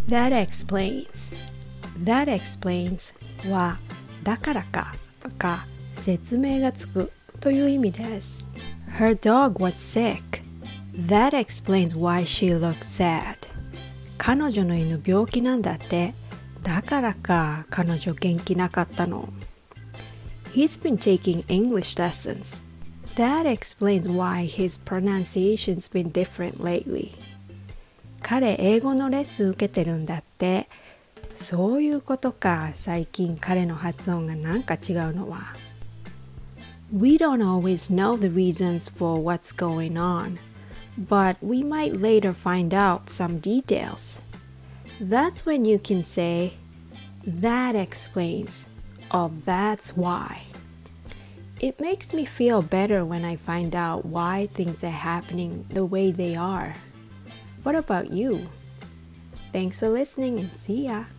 That explains. That explains はだからかとか説明がつくという意味です。Her dog was sick. That explains why she looked sad. 彼女の犬病気なんだって。だからか彼女元気なかったの。He's been taking English lessons. That explains why his pronunciation's been different lately. 彼英語のレッスン受けてるんだって。そういうことか。最近彼の発音がなんか違うのは。We don't always know the reasons for what's going on, but we might later find out some details. That's when you can say, that explains, or that's why. It makes me feel better when I find out why things are happening the way they are. What about you? Thanks for listening and see ya!